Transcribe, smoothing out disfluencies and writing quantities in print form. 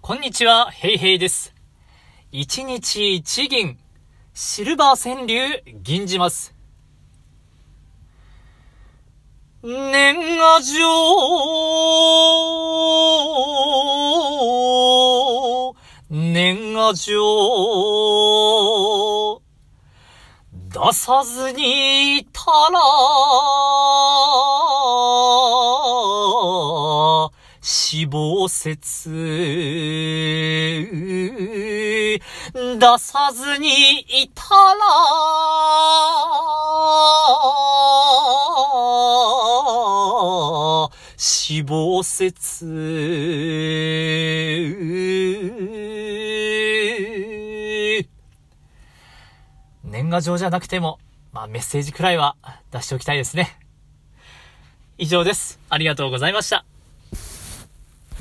こんにちは、ヘイヘイです。一日一銀、シルバー川柳、銀じます。年賀状、年賀状、出さずにいたら、死亡説出さずにいたら死亡説年賀状じゃなくてもメッセージくらいは出しておきたいですね。以上です。ありがとうございました。